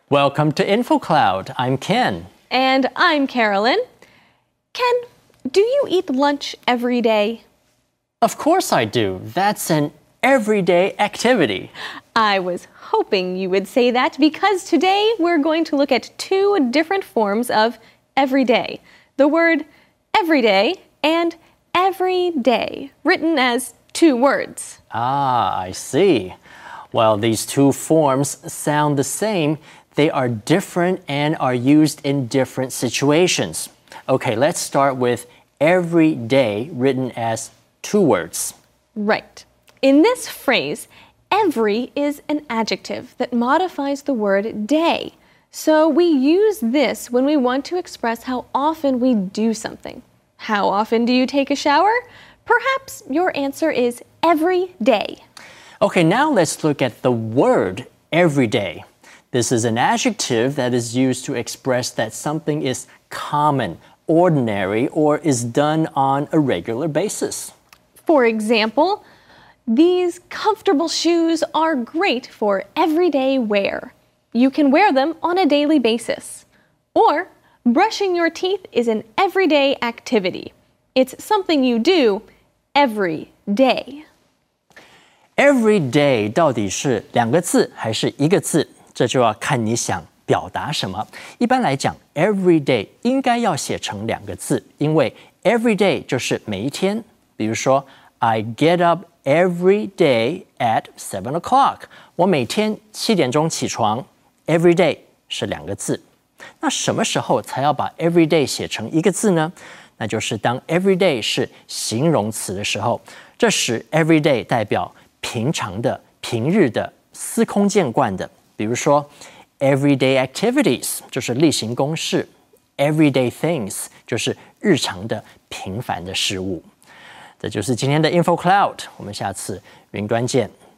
Welcome to InfoCloud. I'm Ken. And I'm Carolyn. Ken, do you eat lunch every day? Of course I do. That's an everyday activity. I was hoping you would say that because today we're going to look at two different forms of everyday. The word everyday and everyday, written as two words. Ah, I see. Well, these two forms sound the same. They are different and are used in different situations. Okay, let's start with everyday, written as two words. Right. In this phrase, every is an adjective that modifies the word day. So we use this when we want to express how often we do something. How often do you take a shower? Perhaps your answer is every day. Okay, now let's look at the word everyday. This is an adjective that is used to express that something is common, ordinary, or is done on a regular basis. For example, these comfortable shoes are great for everyday wear. You can wear them on a daily basis. Or, brushing your teeth is an everyday activity. It's something you do every day. Every day 到底是两个字还是一个字？这就要看你想表达什么。一般来讲 every day 应该要写成两个字，因为 every day 就是每一天。比如说 I get up every day at 7 o'clock. 我每天7点钟起床。every day 是两个字。那什么时候才要把 every day 写成一个字呢？那就是当 every day 是形容词的时候，这时 every day 代表平常的、平日的、司空见惯的。比如说 everyday activities 就是例行公事 everyday things 就是日常的平凡的事物。这就是今天的 InfoCloud， 我们下次云端见。